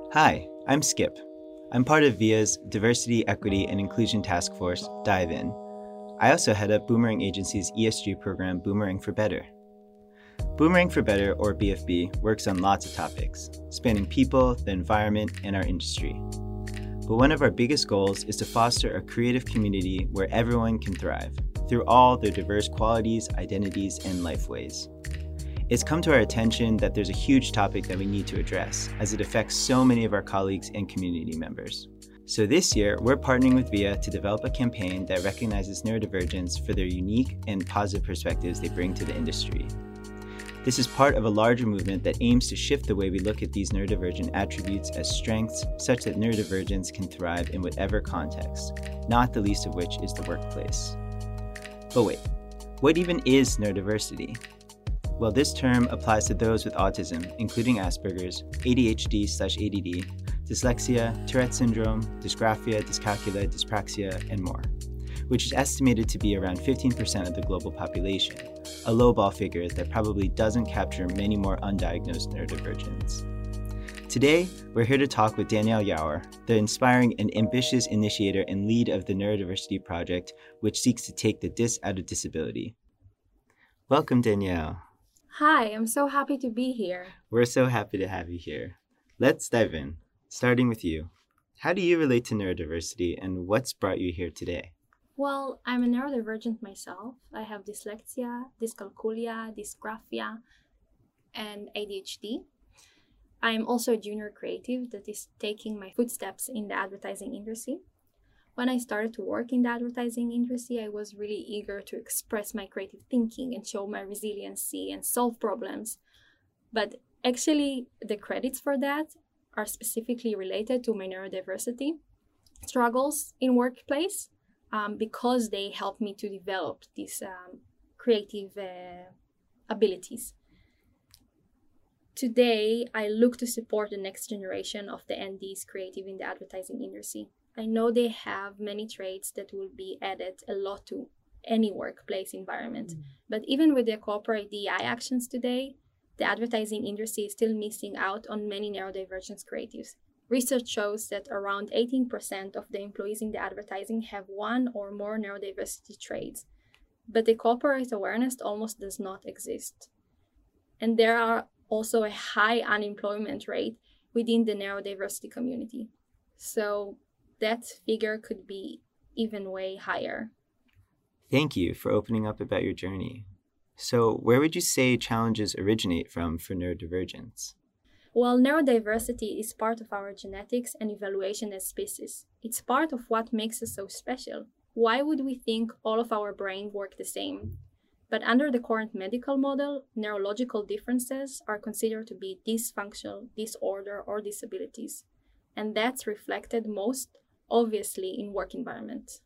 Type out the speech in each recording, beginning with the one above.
Hi, I'm Skip. I'm part of VIA's Diversity, Equity, and Inclusion Task Force, Dive In. I also head up Boomerang Agency's ESG program, Boomerang for Better. Boomerang for Better, or BFB, works on lots of topics, spanning people, the environment, and our industry. But one of our biggest goals is to foster a creative community where everyone can thrive, through all their diverse qualities, identities, and lifeways. It's come to our attention that there's a huge topic that we need to address, as it affects so many of our colleagues and community members. So this year, we're partnering with VIA to develop a campaign that recognizes neurodivergents for their unique and positive perspectives they bring to the industry. This is part of a larger movement that aims to shift the way we look at these neurodivergent attributes as strengths, such that neurodivergents can thrive in whatever context, not the least of which is the workplace. But wait, what even is neurodiversity? Well, this term applies to those with autism, including Asperger's, ADHD/ADD, dyslexia, Tourette syndrome, dysgraphia, dyscalculia, dyspraxia, and more, which is estimated to be around 15% of the global population, a lowball figure that probably doesn't capture many more undiagnosed neurodivergents. Today, we're here to talk with Danielle Yauer, the inspiring and ambitious initiator and lead of the Neurodiversity Project, which seeks to take the dis out of disability. Welcome, Danielle. Hi, I'm so happy to be here. We're so happy to have you here. Let's dive in, starting with you. How do you relate to neurodiversity and what's brought you here today? Well, I'm a neurodivergent myself. I have dyslexia, dyscalculia, dysgraphia, and ADHD. I'm also a junior creative that is taking my footsteps in the advertising industry. When I started to work in the advertising industry, I was really eager to express my creative thinking and show my resiliency and solve problems. But actually, the credits for that are specifically related to my neurodiversity struggles in workplace because they helped me to develop these creative abilities. Today, I look to support the next generation of the NDs creative in the advertising industry. I know they have many traits that will be added a lot to any workplace environment. But even with the corporate DEI actions today, the advertising industry is still missing out on many neurodivergent creatives. Research shows that around 18% of the employees in the advertising have one or more neurodiversity traits, but the corporate awareness almost does not exist. And there are also a high unemployment rate within the neurodiversity community. So that figure could be even way higher. Thank you for opening up about your journey. So, where would you say challenges originate from for neurodivergence? Well, neurodiversity is part of our genetics and evaluation as species. It's part of what makes us so special. Why would we think all of our brains work the same? But under the current medical model, neurological differences are considered to be dysfunctional, disorder, or disabilities. And that's reflected most obviously in work environment.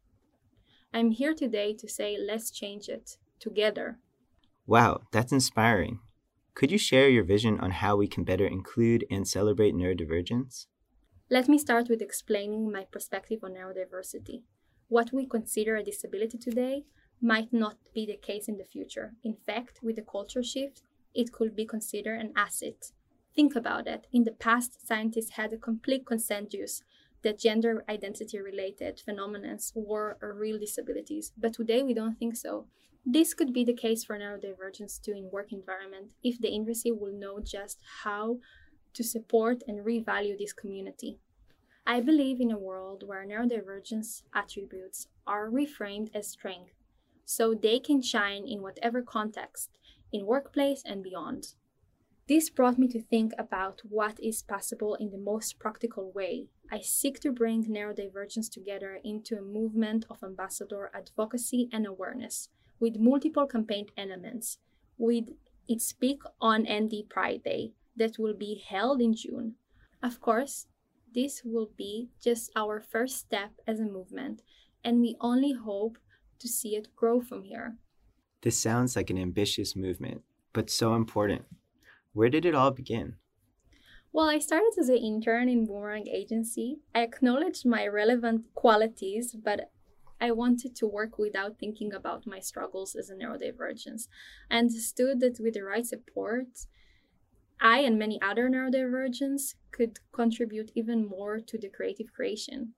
I'm here today to say let's change it together. Wow, that's inspiring. Could you share your vision on how we can better include and celebrate neurodivergence? Let me start with explaining my perspective on neurodiversity. What we consider a disability today might not be the case in the future. In fact, with the culture shift, it could be considered an asset. Think about it. In the past, scientists had a complete consensus that gender identity-related phenomena were real disabilities, but today we don't think so. This could be the case for neurodivergence too in work environment if the industry will know just how to support and revalue this community. I believe in a world where neurodivergence attributes are reframed as strength, so they can shine in whatever context, in workplace and beyond. This brought me to think about what is possible in the most practical way. I seek to bring neurodivergence together into a movement of ambassador advocacy and awareness, with multiple campaign elements, with its Speak on ND Pride Day that will be held in June. Of course, this will be just our first step as a movement, and we only hope to see it grow from here. This sounds like an ambitious movement, but so important. Where did it all begin? Well, I started as an intern in Boomerang Agency. I acknowledged my relevant qualities, but I wanted to work without thinking about my struggles as a neurodivergence. I understood that with the right support, I and many other neurodivergents could contribute even more to the creative creation.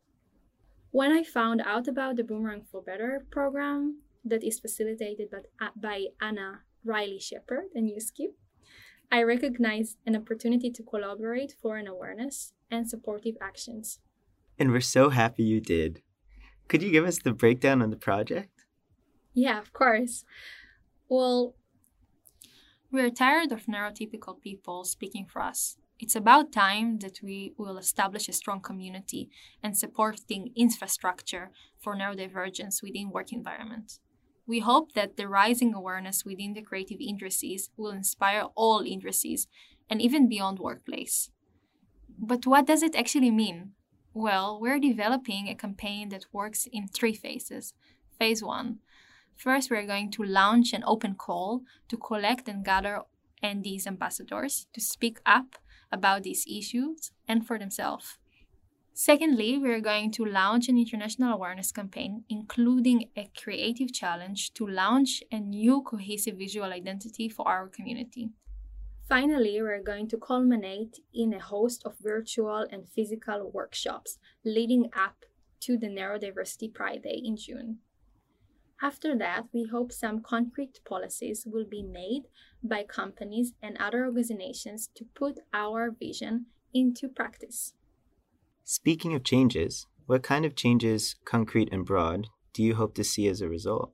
When I found out about the Boomerang for Better program that is facilitated by Anna Riley Shepard and USKIP, I recognized an opportunity to collaborate for an awareness and supportive actions. And we're so happy you did. Could you give us the breakdown on the project? Yeah, of course. Well, we're tired of neurotypical people speaking for us. It's about time that we will establish a strong community and supporting infrastructure for neurodivergence within work environments. We hope that the rising awareness within the creative industries will inspire all industries and even beyond workplace. But what does it actually mean? Well, we're developing a campaign that works in 3 phases. Phase 1. First, we're going to launch an open call to collect and gather ND's ambassadors to speak up about these issues and for themselves. Secondly, we're going to launch an international awareness campaign, including a creative challenge to launch a new cohesive visual identity for our community. Finally, we're going to culminate in a host of virtual and physical workshops leading up to the Neurodiversity Pride Day in June. After that, we hope some concrete policies will be made by companies and other organizations to put our vision into practice. Speaking of changes, what kind of changes, concrete and broad, do you hope to see as a result?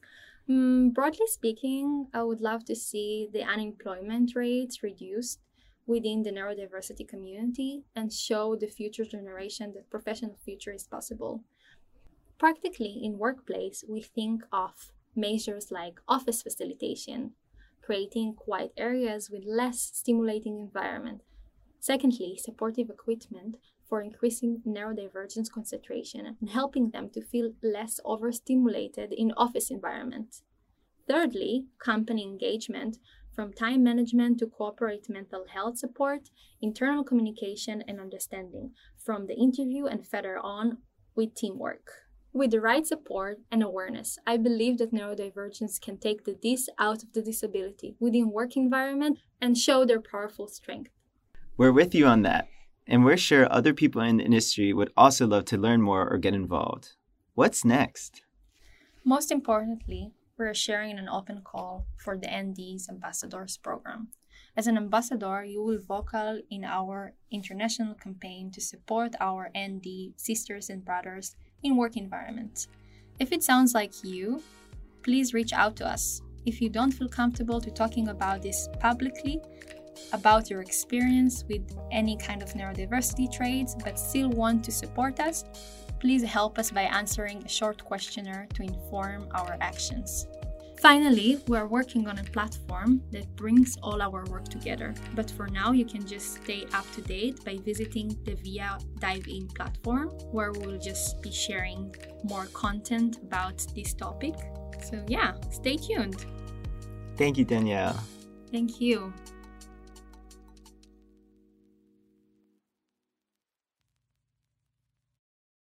Broadly speaking, I would love to see the unemployment rates reduced within the neurodiversity community and show the future generation that professional future is possible. Practically, in workplace, we think of measures like office facilitation, creating quiet areas with less stimulating environment. Secondly, supportive equipment for increasing neurodivergence concentration and helping them to feel less overstimulated in office environment. Thirdly, company engagement, from time management to corporate mental health support, internal communication and understanding, from the interview and further on with teamwork. With the right support and awareness, I believe that neurodivergence can take the dis out of the disability within work environment and show their powerful strength. We're with you on that, and we're sure other people in the industry would also love to learn more or get involved. What's next? Most importantly, we're sharing an open call for the ND's Ambassadors program. As an ambassador, you will vocal in our international campaign to support our ND sisters and brothers in work environment. If it sounds like you, please reach out to us. If you don't feel comfortable to talking about this publicly, about your experience with any kind of neurodiversity traits but still want to support us, please help us by answering a short questionnaire to inform our actions. Finally, we are working on a platform that brings all our work together. But for now, you can just stay up to date by visiting the VIA Dive In platform, where we'll just be sharing more content about this topic. So yeah, stay tuned. Thank you, Danielle. Thank you.